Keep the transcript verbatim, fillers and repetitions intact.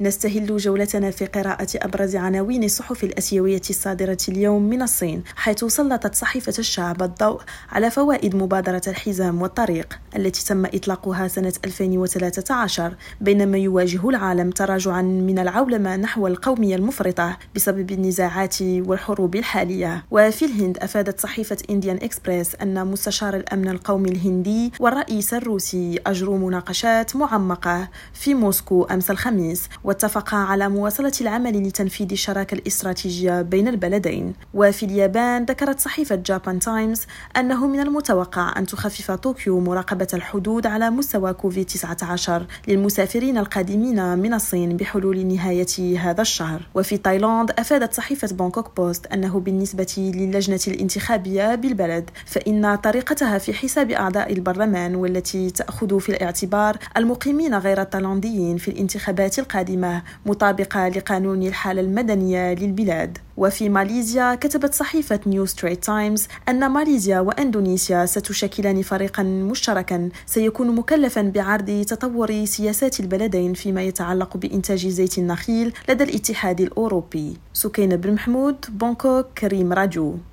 نستهل جولتنا في قراءة أبرز عناوين الصحف الآسيوية الصادرة اليوم من الصين، حيث سلطت صحيفة الشعب الضوء على فوائد مبادرة الحزام والطريق التي تم إطلاقها سنة ألفين وثلاثة عشر، بينما يواجه العالم تراجعا من العولمة نحو القومية المفرطة بسبب النزاعات والحروب الحالية. وفي الهند أفادت صحيفة إنديان إكسبريس أن مستشار الأمن القومي الهندي والرئيس الروسي أجروا مناقشات معمقة في موسكو أمس الخميس، واتفقا على مواصلة العمل لتنفيذ الشراكة الاستراتيجية بين البلدين. وفي اليابان ذكرت صحيفة جابان تايمز أنه من المتوقع أن تخفف طوكيو مراقبة الحدود على مستوى كوفيد تسعة عشر للمسافرين القادمين من الصين بحلول نهاية هذا الشهر. وفي تايلاند أفادت صحيفة بانكوك بوست أنه بالنسبة للجنة الانتخابية بالبلد فإن طريقتها في حساب أعضاء البرلمان والتي تأخذ في الاعتبار المقيمين غير التايلانديين في الانتخابات القادمة مطابقة لقانون الحالة المدنية للبلاد. وفي ماليزيا كتبت صحيفة نيو ستريت تايمز أن ماليزيا وأندونيسيا ستشكلان فريقا مشتركا سيكون مكلفا بعرض تطور سياسات البلدين فيما يتعلق بإنتاج زيت النخيل لدى الاتحاد الأوروبي. سكينة بن محمود، بانكوك، كريم راديو.